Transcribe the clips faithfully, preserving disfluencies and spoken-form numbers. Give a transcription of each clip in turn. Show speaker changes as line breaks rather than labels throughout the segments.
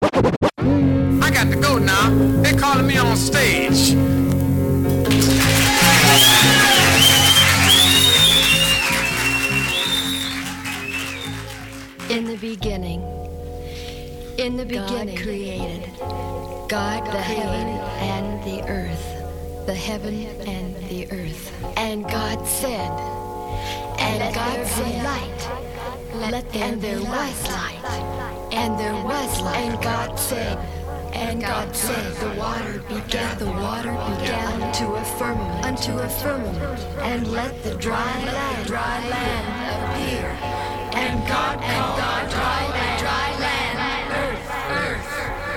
I got to go now. They're calling me on stage.
In the beginning, in the beginning, God created God the heaven and the earth, the heaven and the earth. And God said, and God said, light, let there and there was light, and there was light. And God said, and God said, the water began, the water began unto a firmament, unto a firmament, and let the dry land, dry land appear. And God, and God, dry land, dry land, earth, earth.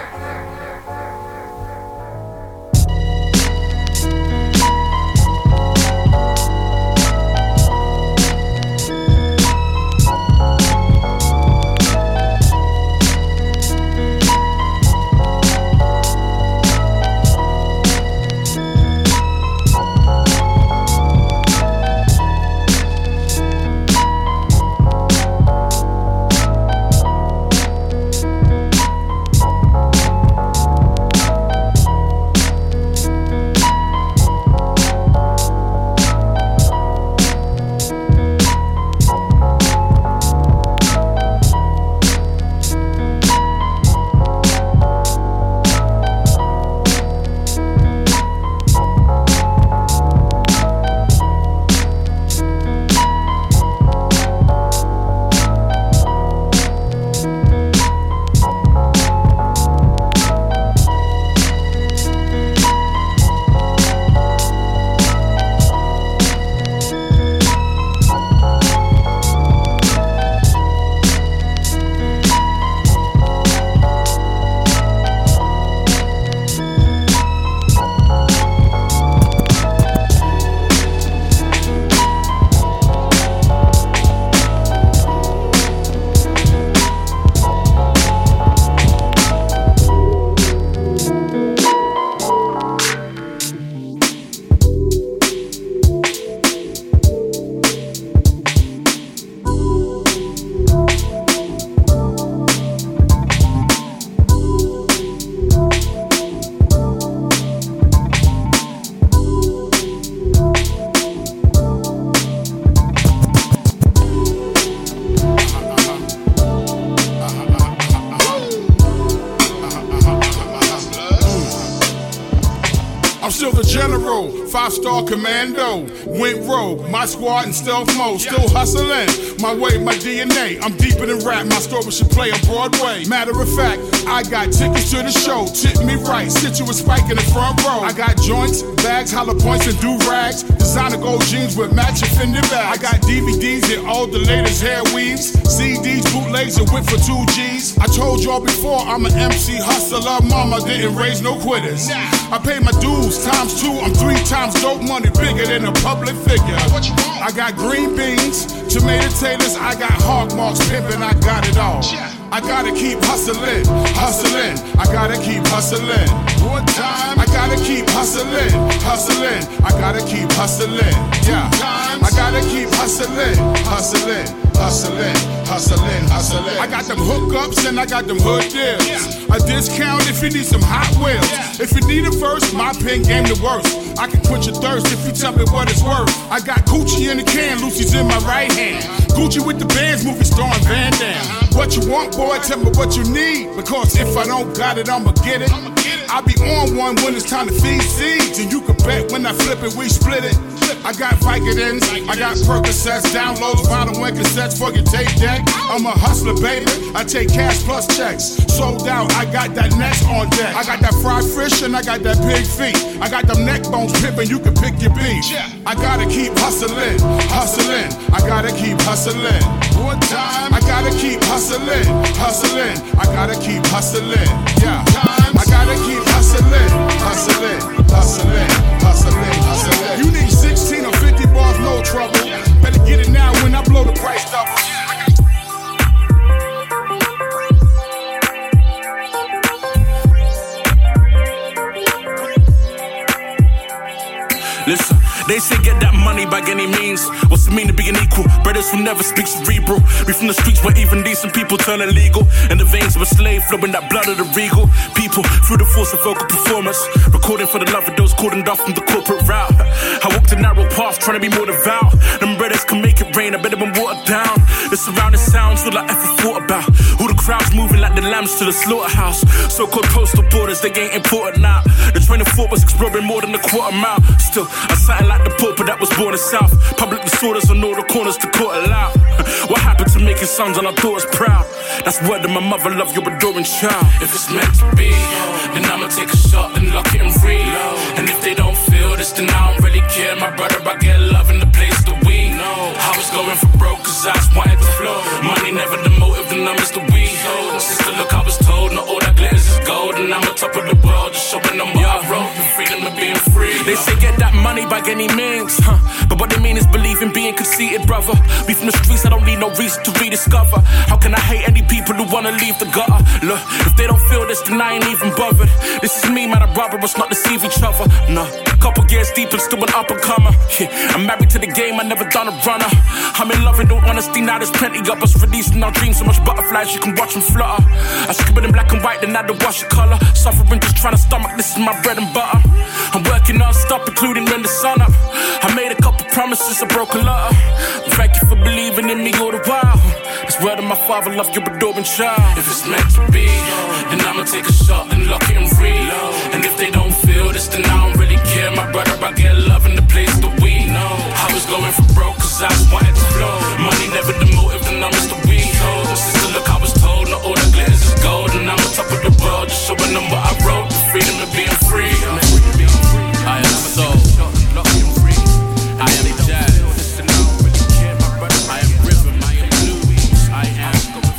Five-star commando, went rogue, my squad in stealth mode, still hustling, my way, my D N A, I'm deeper than rap, my story should play on Broadway. Matter of fact, I got tickets to the show, tip me right, sit you a spike in the front row. I got joints, bags, hollow points and do-rags, designer gold jeans with matching Fendi bags. I got D V Ds and all the latest hair weaves, C Ds, bootlegs and whip for two G's. I told y'all before, I'm an M C hustler, mama didn't raise no quitters. I pay my dues, times two, I'm three times dope money, bigger than a public figure. I got green beans, tomato taters, I got hog marks, pimpin', I got it all. I gotta keep hustling, hustling, I gotta keep hustling. One time, I gotta keep hustling, hustling, I gotta keep hustling. Yeah, I gotta keep hustling, hustling, hustling, hustling, hustling. I got them hookups and I got them hood deals. A discount if you need some Hot Wheels. If you need a verse, my pen game the worst. I can quench your thirst if you tell me what it's worth. I got Gucci in the can, Lucy's in my right hand. Gucci with the bands, movie star and Van Damme. What you want, boy, tell me what you need. Because if I don't got it, I'ma get it. I'll be on one when it's time to feed seeds. And you can bet when I flip it, we split it. I got Vicodins, I got Percocets, downloads, vinyl and cassettes for your tape deck. I'm a hustler, baby, I take cash plus checks. Sold out, I got that next on deck. I got that fried fish and I got that pig feet. I got them neck bones pippin', you can pick your beat. I gotta keep hustling, hustling, I gotta keep hustling. One time, I gotta keep hustling, hustling, I gotta keep hustling. Yeah, I gotta keep hustling, hustling, hustling, hustling, hustling. You need sixteen or fifty bars, no trouble. Better get it now when I blow the price double.
Listen, They say get that money by any means. What's it mean to be an equal? Brothers who never speak cerebral. We from the streets where even decent people turn illegal. In the veins of a slave, flowing that blood of the regal. People through the force of vocal performance. Recording for the love of those cordoned off from the corporate route. I walked a narrow path trying to be more devout. Them brothers can make it rain, I better been watered down. The surrounding sounds all I ever thought about. All the crowds moving like the lambs to the slaughterhouse. So-called postal borders, they ain't important now. The train of thought was exploring more than a quarter mile. Still, I sat like the pauper that was born in South. Public disorders on all the corners to court aloud. What happened to making sons and our daughters proud? That's word that my mother love your adoring child. If it's meant to be, then I'ma take a shot and lock it and read. And if they don't feel this, then I don't really care. My brother, I get love in the place that we know. I was going for broke cause I just wanted to flow. Money never the motive, the numbers the we hold. Sister, look, I was told, not all that glitters is gold. And I'm on top of the world, just showing them what I wrote. The freedom of being free. They say get that money by any means, huh? But what they mean is believe in being conceited, brother. Be from the streets, I don't need no reason to rediscover. How can I hate any people who wanna leave the gutter? Look, if they don't feel this, then I ain't even bothered. This is me, man, I'd rather us not deceive each other. No, couple years deep and still an up and comer. Yeah, I'm married to the game, I never done a runner. I'm in love in all honesty, now there's plenty of us releasing our dreams. So much butterflies, you can watch them flutter. I scribble in black and white, then I do wash the color. Suffering just trying to stomach, this is my bread and butter. I'm working non-stop, including when the sun up. I made a couple promises, I broke a lot. Thank you for believing in me all the while. It's word of my father, love your adoring child. If it's meant to be, then I'ma take a shot and lock it and read. And if they don't feel this, then I don't really care. My brother, I get love in the place that we know. I was going for broke cause I just wanted to flow. Money never the motive, the numbers that we hold. Sister, look, I was told, not all that glitters is gold. And I'm on top of the world, just showing them what I wrote. The freedom of being free. I am so, I am jazz, I am rhythm, I am blues, I am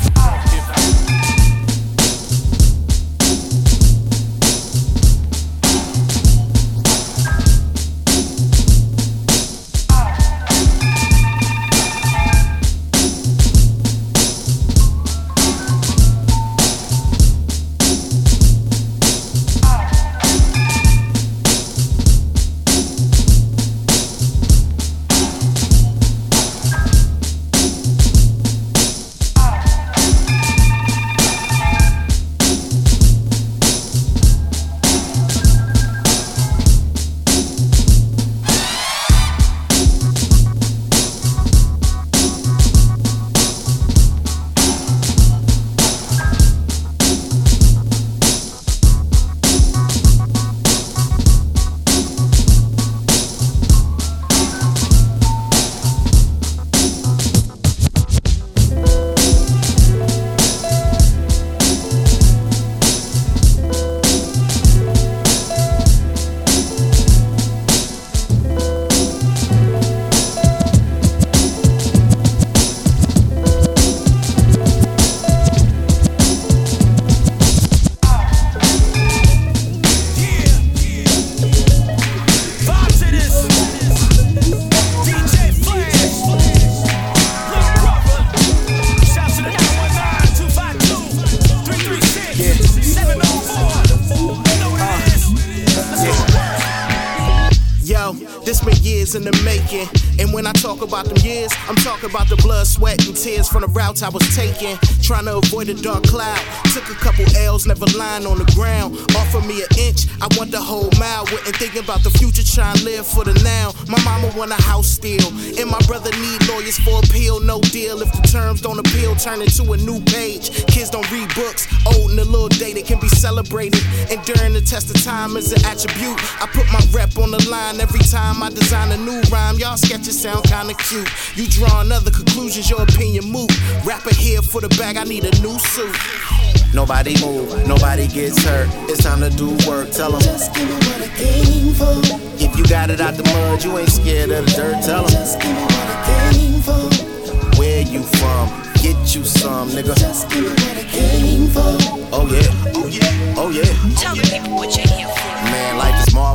In the making. And when I talk about them years, I'm talking about the blood, sweat, and tears from the routes I was taking. Trying to avoid a dark cloud. Took a couple L's, never lying on the ground. Offer me an inch, I want the whole mile. Wasn't thinking about the future, trying to live for the now. My mama want a house still, and my brother need lawyers for appeal. No deal if the terms don't appeal, turn it to a new page. Kids don't read books, old and a little day that can be celebrated. And during the test of time is an attribute. I put my rep on the line every time I design a new rhyme. Y'all sketches sound kinda cute. You draw another conclusions, your opinion moot. Rapper here for the bag, I need a new suit.
Nobody move, nobody gets hurt. It's time to do work, tell them.
Just give me what I came for.
If you got it out the mud, you ain't scared of the dirt, tell them.
Just give me what I came for.
Where you from? Get you some, nigga.
Just give me what I came for.
Oh yeah, oh yeah, oh yeah.
Tell the people what you're here for.
Man, life is marvelous.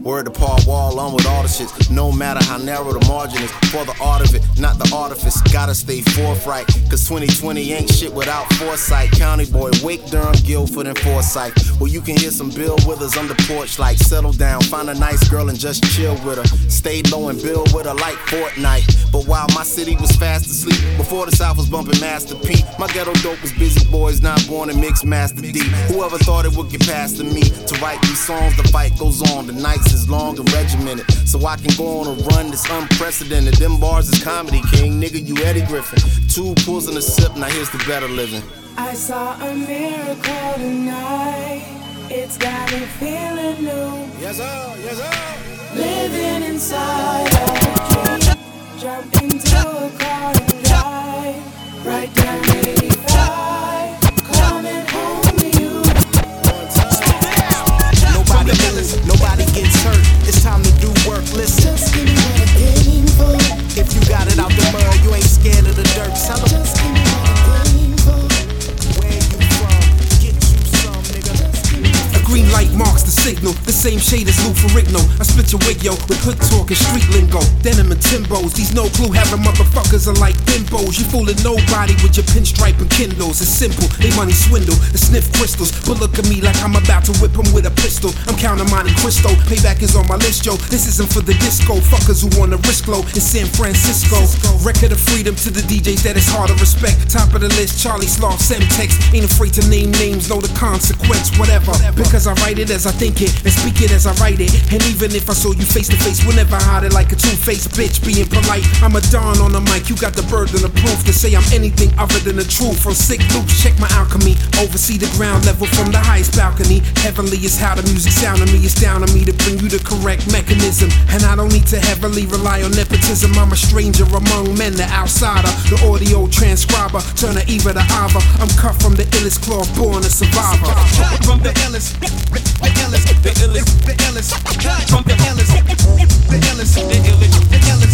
Word to Paul Wall on with all the shit. No matter how narrow the margin is, for the art of it, not the artifice. Gotta stay forthright, cause twenty twenty ain't shit without foresight. County boy, Wake, Durham, Guilford, and Forsyth. Well, you can hear some Bill Withers on the porch, like settle down, find a nice girl and just chill with her. Stay low and build with her like Fortnite. But while my city was fast asleep, before the South was bumping Master P, my ghetto dope was busy boys, not born and mixed Master D. Whoever thought it would get past to me to write these songs? The fight goes on, the nights is long and regimented, so I can go on a run that's unprecedented. Them bars is comedy, king, nigga, you Eddie Griffin. Two pulls and a sip, now here's the better living.
I saw a miracle tonight, it's got me feeling new.
Yes sir, yes sir.
Living inside of a dream, jump into a car and drive right down eighty-five, coming home to you.
Nobody moves, nobody gets hurt. It's time to do work. Listen,
Just give me what I came for.
if you got it out the mud, you ain't scared of the dirt. Tell 'em
Just give me what I came for.
where you from. Get you some, nigga.
A green light marks the signal, the same shade as Lou Ferrigno. I split your wig, yo, with hood talk and street lingo. Denim and Timbos, these no clue having motherfuckers are like bimbos. You fooling nobody with your pinstripe and Kindles. It's simple, they money swindle and sniff crystals. But look at me like I'm about to whip them with a pistol. I'm counting Monte Cristo, payback is on my list, yo. This isn't for the disco fuckers who wanna risk low in San Francisco. Record of freedom to the D Js that is hard to respect. Top of the list, Charlie Sloth, Semtex. Ain't afraid to name names, know the consequence, whatever. Because I write it as I think it and speak it as I write it. And even if I saw you face to face, we'll never hide it like a two-faced bitch being polite. I'm a don on the mic, you got the burden of proof to say I'm anything other than the truth. From sick loops, check my alchemy. Oversee the ground level from the highest balcony. Heavenly is how the music sound to me. It's down to me to bring you the correct mechanism. And I don't need to heavily rely on nepotism. I'm a stranger among men, the outsider, the audio transcriber. Turn the Eva to Ava. I'm cut from the illest cloth, born a survivor.
From the illest, the illest, the illest, the illest, from the illest, the illest, the illest, the illest,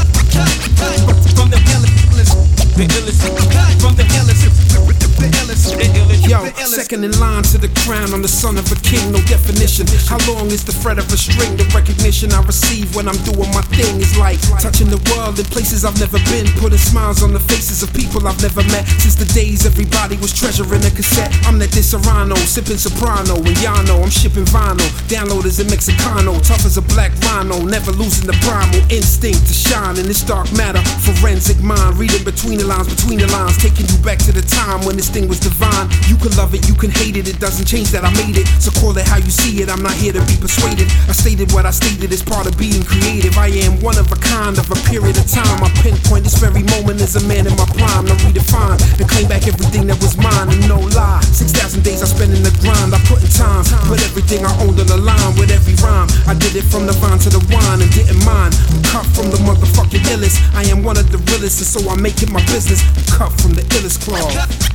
from the illest, the illest, from the illest, the illest, the illest.
Yo, second in line to the crown, I'm the son of a king, no definition. How long is the thread of a string? The recognition I receive when I'm doing my thing is like touching the world in places I've never been, putting smiles on the faces of people I've never met. Since the days everybody was treasuring a cassette, I'm that Disaronno, sipping soprano, and y'all know I'm shipping vinyl. Downloaders in Mexicano, tough as a black rhino, never losing the primal instinct to shine in this dark matter. Forensic mind, reading between the lines, between the lines, taking you back to the time when this thing was divine. You can love it, you can hate it, it doesn't change that I made it. So call it how you see it, I'm not here to be persuaded. I stated what I stated as part of being creative. I am one of a kind of a period of time. I pinpoint this very moment as a man in my prime to redefine and claim back everything that was mine and no lie. Six thousand days I spent in the grind, I put in time, put everything I owned on the line with every rhyme. I did it from the vine to the wine and didn't mind. I'm cut from the motherfucking illest. I am one of the realest and so I make it my business. I'm cut from the illest cloth.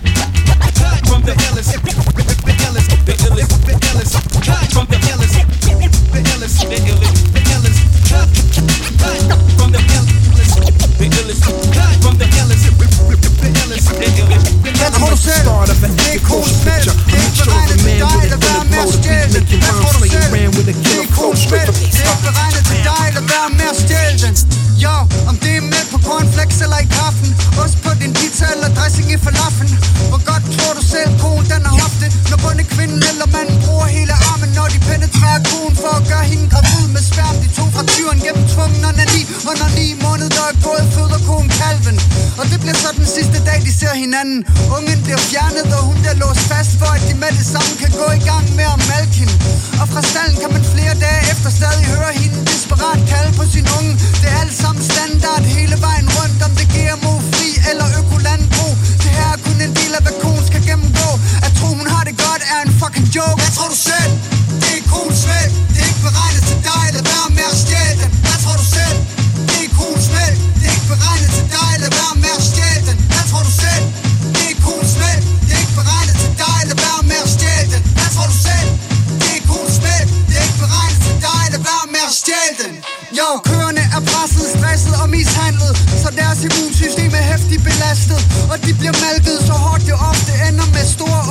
From the illest, the illest, the illest, the illest, from the illest, the illest, the illest, the illest, from the illest, the illest, from the illest, the illest, the illest.
I'm the start of an epic motion picture. A mixture of a man with a bullet blow, the beat making rhymes, playing ran with a killer flow, straight from East.
Det er beregnet til dig, lad være med at stjæle den. Jo, om det er med på cornflakes eller i kaffen, ost på din pizza eller dressing i falafen. Hvor godt tror du selv, konen den har haft det, når både kvinden eller manden bruger hele armen, når de penetrerer konen for at gøre hende gravid med sperm. De tog fra tyren gennem tvungen onani, og når ni måneder der er gået, føder konen kalven. Og det bliver så den sidste dag, de ser hinanden. Ungen bliver fjernet, og hun bliver låst fast, for at de med det samme kan gå i gang med at malke hende. Og fra stallen kan man flere dage efter stadig høre hende desperat kalde på sin unge. Det er alt sammen standard hele vejen rundt, om det G M O-fri eller økolandbrug. Det her er kun en del af, hvad konen skal gennemgå. At tro, hun har det godt, er en fucking joke. Hvad tror du selv? Det er konens valg. Det er ikke beregnet til dig, lad være med at stjæle den. Hvad tror du selv? Det er konens valg. Det er ikke beregnet til dig, lad være med at stjæle den. Hvad tror du selv? Det er konens valg. Det er ikke beregnet til dig, lad være med at stjæle den. Hvad tror du selv? Det er konens valg. Det er ikke beregnet til dig, lad være med at stjæle den. Jo, køerne er presset, stresset og mishandlet, så deres immunsystem er hæftigt belastet, og de bliver malket så hårdt det ofte ender med store åbne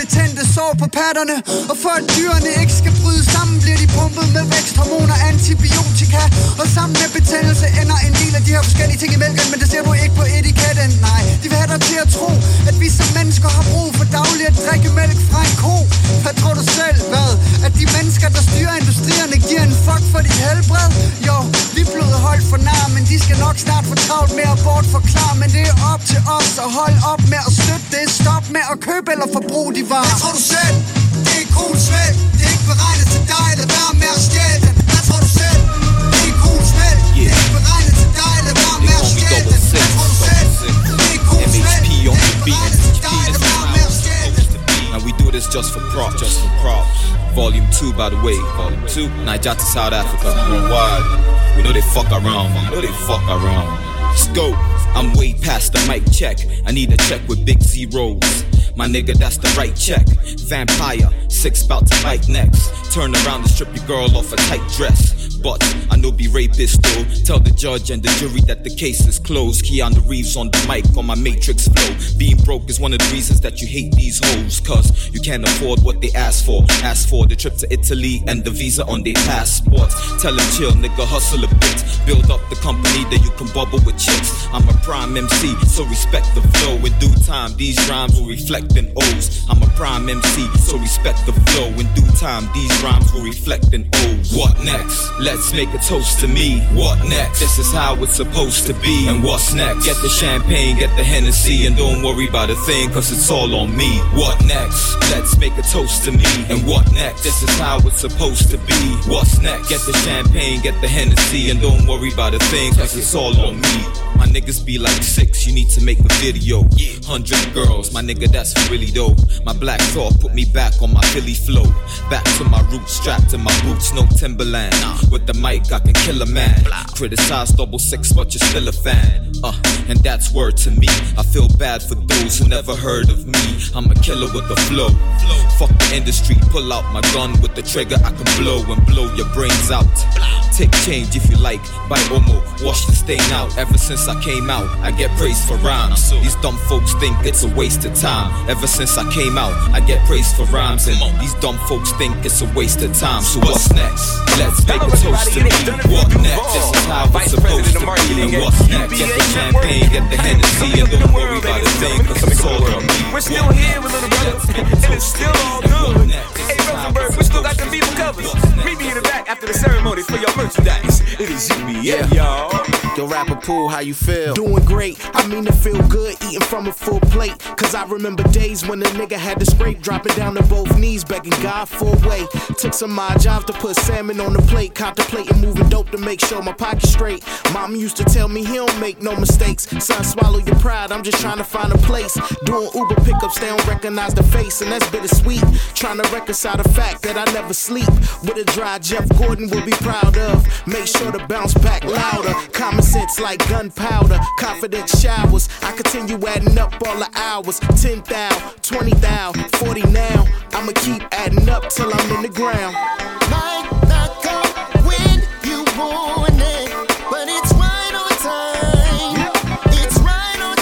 betændte sår på patterne. Og for at dyrene ikke skal bryde sammen, bliver de pumpet med væksthormoner, antibiotika. Og sammen med betændelse ender en del af de her forskellige ting i mælken. Men det ser du ikke på etiketten, nej. De vil have dig til at tro, at vi som mennesker har brug for dagligt at drikke mælk fra en ko. Hvad tror du selv, hvad? At de mennesker, der styrer industrierne, giver en fuck for dit helbred? Jo, vi er blevet holdt for nar, men de skal nok snart få travlt med at bortforklare. Men det er op til os at holde op med at støtte det. Stop med at købe eller forbruge de varer. Hvad tror du selv? Det er cool svæld. Det er ikke beregnet til dig, lad være med at stjæle den. Hvad tror du selv? Det er cool svæld. Det er ikke beregnet til dig, lad være med at stjæle den. Hvad tror du selv? Det er cool svæld. Det er ikke beregnet til dig, lad være med at stjæle den.
And we do this just for props. Just for props. Volume two, by the way. Volume two. Nigeria to South Africa. Worldwide. We know they fuck around. We know they fuck around. Let's go. I'm way past the mic check. I need a check with big zeros. My nigga, that's the right check. Vampire, six bout to bite next. Turn around and strip your girl off a tight dress. But I know be rapist though. Tell the judge and the jury that the case is closed. Keanu Reeves on the mic on my Matrix flow. Being broke is one of the reasons that you hate these hoes. Cause you can't afford what they ask for. Ask for the trip to Italy and the visa on their passports. Tell them chill, nigga, hustle a bit. Build up the company that you can bubble with chicks. I'm a prime M C, so respect the flow. In due time, these rhymes will reflect in O's. I'm a prime M C, so respect the flow. In due time, these rhymes will reflect in O's. What next? Let's make a toast to me. What next? This is how it's supposed to be. And what's next? Get the champagne, get the Hennessy, and don't worry about a thing, cause it's all on me. What next? Let's make a toast to me. And what next? This is how it's supposed to be. What's next? Get the champagne, get the Hennessy, and don't worry about a thing, cause it's all on me. My niggas be like six, you need to make a video. Hundred girls, my nigga, that's really dope. My black thought put me back on my Philly flow. Back to my roots, strapped to my boots, no Timberland. With the mic, I can kill a man. Criticize double six, but you're still a fan. Uh, and that's word to me. I feel bad for those who never heard of me. I'm a killer with the flow. Fuck the industry, pull out my gun with the trigger. I can blow and blow your brains out. Take change if you like, buy Omo, wash the stain out. Ever since I came out, I get praised for rhymes. These dumb folks think it's a waste of time. Ever since I came out, I get praised for rhymes. And these dumb folks think it's a waste of time. So what's next? Let's make a toast to me. What next? This is how it's supposed to be. And what's next? Get the champagne, get the Hennessy, and don't worry about a thing, cause it's all on me.
We're still here with little brother, and it's still all good. Hey Rosenberg, we still got them people covers. Meet me in the back after the ceremony for your merchandise. It is U B A, y'all.
Yo, Rapper Pool, how you feel? Doing great, I mean to feel good, eating from a full plate. Cause I remember days when a nigga had to scrape, dropping down to both knees, begging God for a way. Took some of my jobs to put salmon on the plate, contemplating moving dope to make sure my pocket's straight. Mom used to tell me he don't make no mistakes. Son, swallow your pride, I'm just trying to find a place. Doing Uber pickups, they don't recognize the face, and that's bittersweet. Trying to reconcile the fact that I never sleep. With a dry Jeff Gordon will be proud of. Make sure to bounce back louder. Common sense like gunpowder. Confident showers. I continue adding up all the hours. ten thousand, twenty thousand, forty now. I'ma keep adding up till I'm in the ground.
Might not come when you want it, but it's right on time. It's right on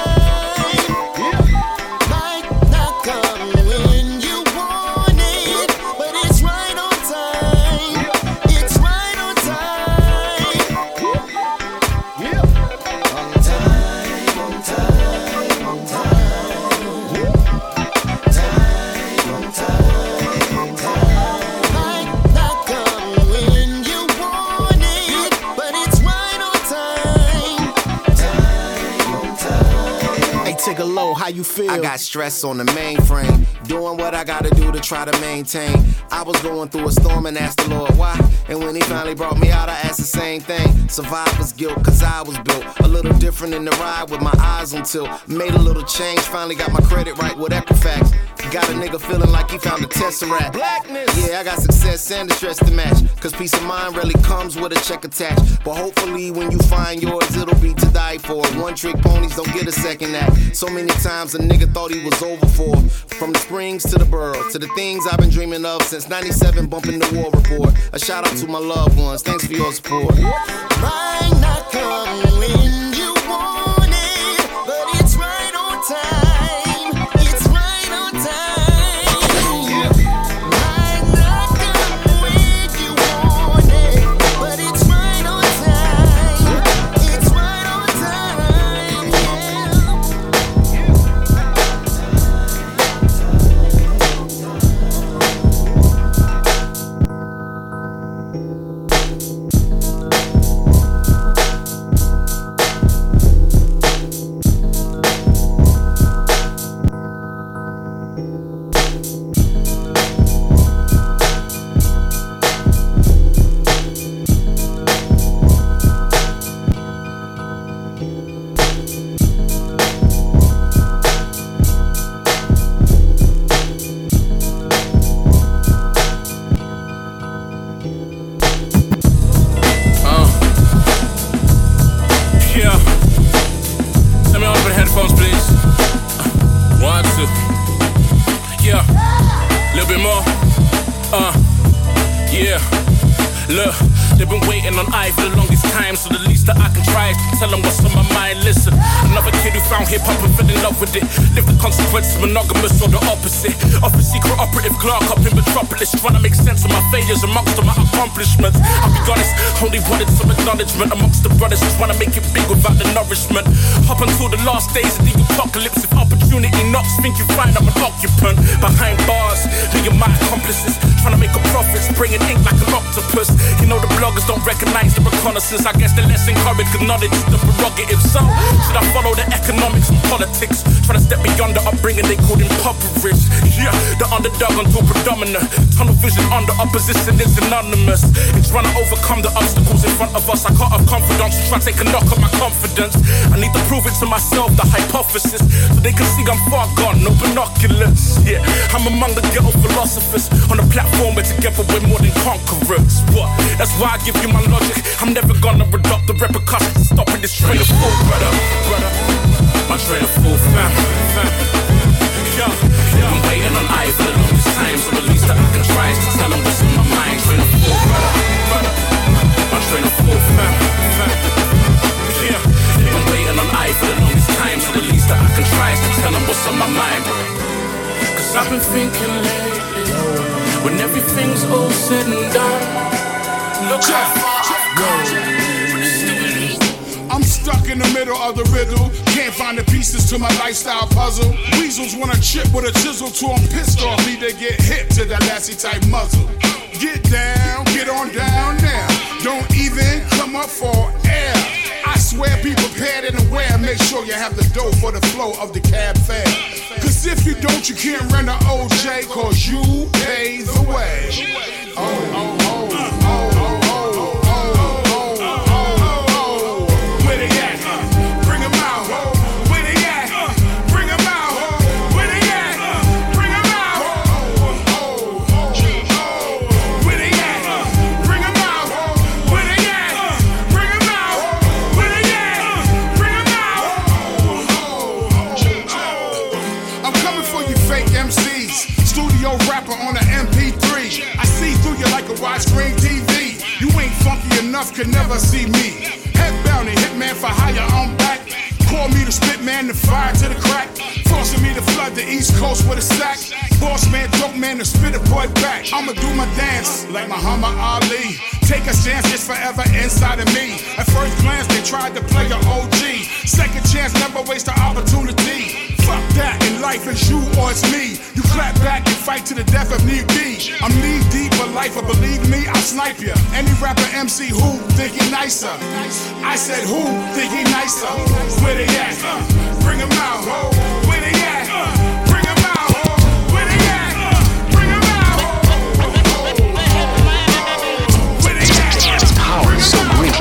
time. Might not come when you want it, but it's right on time. It's right on time. On time, on time, on time. Time, on time, on time. Might not come when you want it, but it's right on time. Time, on time.
Hey, take a low, how you feel?
I got stress on the mainframe, doing what I gotta do to try to maintain. I was going through a storm and asked the Lord why. And when he finally brought me out, I asked the same thing. Survivor's guilt, cause I was built a little different in the ride with my eyes on tilt. Made a little change, finally got my credit right with Equifax. Got a nigga feeling like he found a tesseract. Blackness. Yeah, I got success and the stress to match. Cause peace of mind really comes with a check attached. But hopefully when you find yours, it'll be to die for. One trick ponies don't get a second act. So many times a nigga thought he was over for. From the Springs to the borough, to the things I've been dreaming of since ninety-seven, bumping the war report. A shout out to my loved ones, thanks for your support.
Might not come when you want it, but it's right on time. It's right on time.
bit more. Uh, yeah. Look, they've been waiting on I for the longest time, so the least that I can try is to tell them what's on my mind. Listen, another kid who found hip-hop and fell in love with it. Live the consequences, monogamous or the opposite. Off a secret operative clerk up in Metropolis, trying to make sense of my failures amongst all my accomplishments. I'll be honest, only wanted some acknowledgement amongst the brothers, trying to make it big without the nourishment. Up until the last days of the apocalypse, if opportunity knocks, think you find I'm an occupant. Behind bars, being my accomplices, trying to make a profit, bringing ink like an octopus. You know the bloggers don't recognize the reconnaissance. I guess they're less encouraged cause knowledge is the prerogative. So, should I follow the economics and politics? Trying to step beyond the upbringing they called impoverished. Yeah, the underdog until predominant. Tunnel vision under opposition is synonymous. In trying to overcome the obstacles in front of us, I can't have confidence, try to take a knock on my confidence. I need to prove it to myself, the hypothesis, so they can see I'm far gone, no binoculars. Yeah, I'm among the ghetto philosophers on a platform where together we're more than conquerors. What? That's why I give you my logic. I'm never gonna adopt the repercussions, stopping this train of thought, brother, brother. My train of thought, fam, fam. Yo, yo, I'm waiting on I for the longest time, so the least that I can try is to tell them what's on my mind. Train of thought, brother, brother. My train of thought, fam, fam. Yeah, I'm waiting on I for the longest time, so the least that I can try is to tell them what's on my mind. Cause I've been thinking lately, when everything's all said and done, look how far I've come.
I'm stuck in the middle of the riddle. Can't find the pieces to my lifestyle puzzle. Weasels want a chip with a chisel to them pissed off. Need to get hit to that Lassie type muzzle. Get down, get on down now. Don't even come up for air. I swear be prepared and aware. Make sure you have the dough for the flow of the cab fare. Cause if you don't, you can't run the O J. Cause you pay the way. Oh, oh, oh, oh, oh. Widescreen T V, you ain't funky enough, can never see me. Head bounty, hitman for hire, I'm back. Call me the spit man, the fire to the crack. Forcing me to flood the East Coast with a sack. Boss man, dope man, the spitter boy back. I'ma do my dance like Muhammad Ali. Take a chance, it's forever inside of me. At first glance, they tried to play a O G. Second chance, never waste the opportunity. Fuck that, in life it's you or it's me. You clap back and fight to the death if need be. I'm knee deep for life, but believe me, I'll snipe ya. Any rapper M C who think he nicer? I said who think he nicer? Where they at? Bring him out. Where they at? Bring him out. Where they at? Bring him out. Where they at? Power so weak.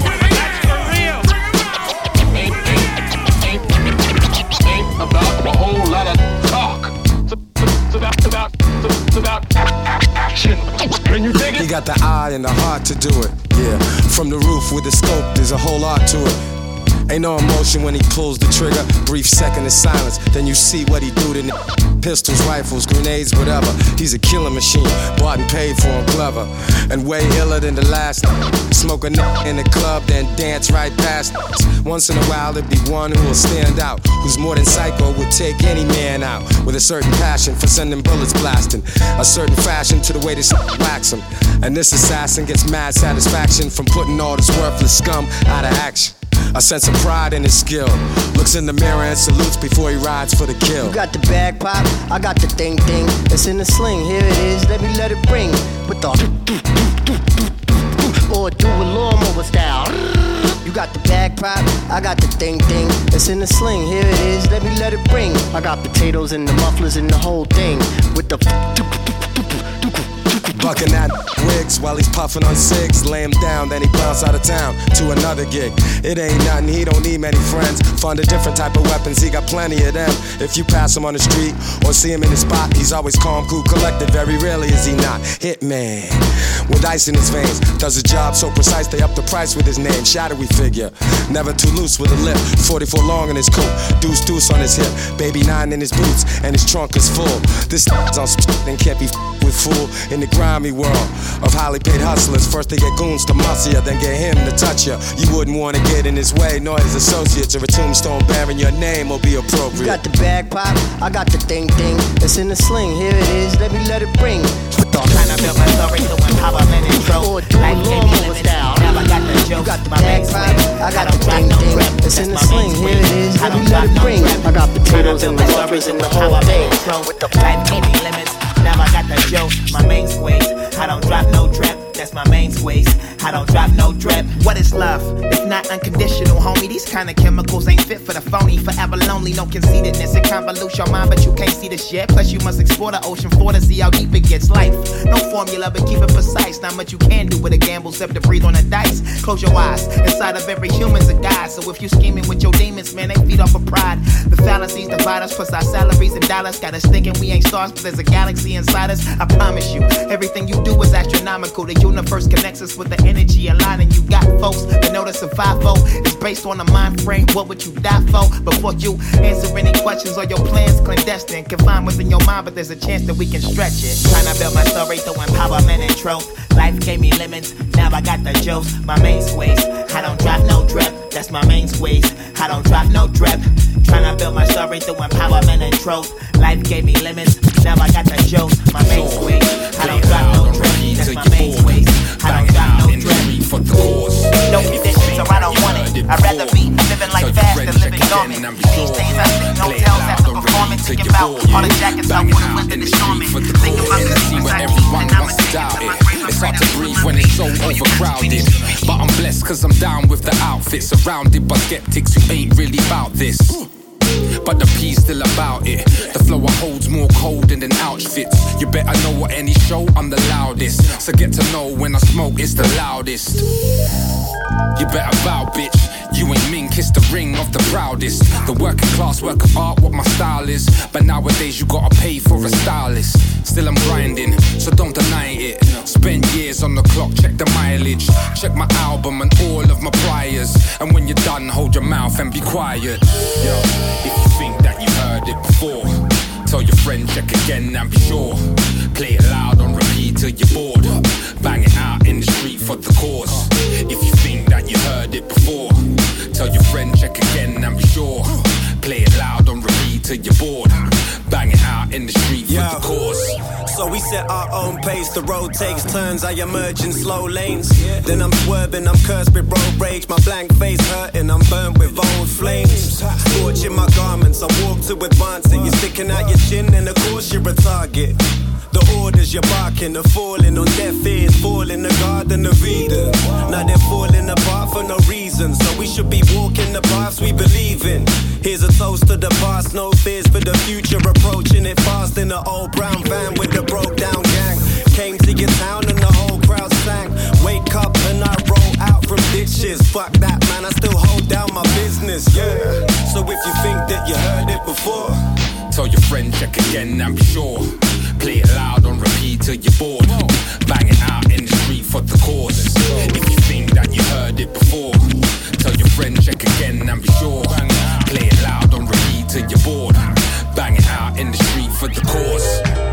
About a whole lot of talk. It's about, about, it's about action. Can you dig it?
He got the eye and the heart to do it. Yeah, from the roof with the scope, there's a whole lot to it. Ain't no emotion when he pulls the trigger. Brief second of silence, then you see what he do to n- pistols, rifles, grenades, whatever. He's a killing machine, bought and paid for him, clever. And way iller than the last. Smoke a n- in the club, then dance right past. Once in a while, there'd be one who will stand out, who's more than psycho, would take any man out. With a certain passion for sending bullets blasting. A certain fashion to the way this wax him. And this assassin gets mad satisfaction from putting all this worthless scum out of action. A sense of pride in his skill. Looks in the mirror and salutes before he rides for the kill.
You got the bag pop, I got the thing thing. It's in the sling, here it is, let me let it ring. With the or do a lawnmower style. You got the bag pop, I got the thing thing. It's in the sling, here it is, let me let it ring. I got potatoes and the mufflers and the whole thing. With the
bucking that wig six while he's puffing on six. Lay him down, then he bounce out of town to another gig. It ain't nothing, he don't need many friends. Find a different type of weapons, he got plenty of them. If you pass him on the street or see him in his spot, he's always calm, cool, collected. Very rarely is he not. Hitman with ice in his veins, does a job so precise they up the price with his name. Shadowy figure, never too loose with a lip. forty-four long in his coat, deuce deuce on his hip, baby nine in his boots, and his trunk is full. This on and can't be with fool in the grimy world of highly paid hustlers. First they get goons to muscle ya, then get him to touch ya. You wouldn't wanna get in his way, nor his associates, or a tombstone bearing your name will be appropriate.
You got the bag pop, I got the thing thing. It's in the sling, here it is, let me let it ring.
Trying to build my story to empowerment and growth. Life gave me limits, now I got the joke.
You got the bag pop, I got the thing thing. It's in the sling, here it is, let me let it ring. I got potatoes and the buffers and the whole thing.
With the life gave me limits, now I got the joke. My main squeeze, I don't drop no drip. That's my main squeeze. I don't drop no drip. What is love? It's not unconditional, homie. These kind of chemicals ain't fit for the phony. Forever lonely, no conceitedness. It convolutes your mind, but you can't see the shit. Plus, you must explore the ocean floor to see how deep it gets. Life, no formula, but keep it precise. Not much you can do with a gamble, except to breathe on the dice. Close your eyes. Inside of every human's a guy. So if you scheming with your demons, man, they feed off of pride. The fallacies divide us, plus our salaries and dollars. Got us thinking we ain't stars, but there's a galaxy inside us. I promise you, everything you do is astronomical. The universe connects us with the energy aligning. You got folks that know the survival is based on a mind frame. What would you die for? Before you answer any questions or your plans clandestine, confined within your mind, but there's a chance that we can stretch it. Trying to build my story through empowerment and truth. Life gave me limits, now I got the jokes. My main squeeze, I don't drop no drip. That's my main squeeze, I don't drop no drip. Trying to build my story through empowerment and truth. Life gave me limits, now I got the jokes. My main squeeze, I don't drop no drip. That's my main squeeze, I don't drop no drip. No conditions, or I don't want it. I'd rather be living like fast than living dormant. These days I sleep in hotels after performing, thinking about all the jackets I would've went the storming. Think about the secrets I keep, and I'm addicted to my grave.
It's hard to breathe when it's so overcrowded, but I'm blessed cause I'm down with the outfit, surrounded by skeptics who ain't really about this. But the P's still about it. The flow holds more cold than outfits. You better know at any show I'm the loudest. So get to know when I smoke it's the loudest. You better bow, bitch. You ain't mink, it's the ring of the proudest. The working class work of art, what my style is. But nowadays you gotta pay for a stylist. Still I'm grinding, so don't deny it. Spend years on the clock, check the mileage. Check my album and all of my priors. And when you're done, hold your mouth and be quiet. Yo, if you think that you heard it before, tell your friend, check again and be sure. Play it loud on repeat till you're bored. Bang it out in the street for the cause. If you think that you heard it before, tell your friend, check again and be sure. Play it loud on repeat till you're bored. Bang it out in the street for
Yo.
the cause.
So we set our own pace, the road takes turns, I emerge in slow lanes. Then I'm swerving, I'm cursed with road rage, my blank face hurting, I'm burnt with old flames. Scorching my garments, I walk to advance it. You're sticking out your chin and of course you're a target. The orders you're barking are falling on deaf ears, falling the garden of Eden. Now they're falling apart for no reason, so we should be walking the paths we believe in. Here's a toast to the past, no fears for the future, approaching it fast in the old brown van with the broke down gang. Came to your town and the whole crowd sang. Wake up and I roll out from ditches. Fuck that man, I still hold down my business, yeah. So if you think that you heard it before,
tell your friend, check again and be sure. Play it loud on repeat till you're bored. Bang it out in the street for the cause. If you think that you heard it before, tell your friend, check again and be sure. Play it loud on repeat till you're bored. Bang it out in the street for the cause.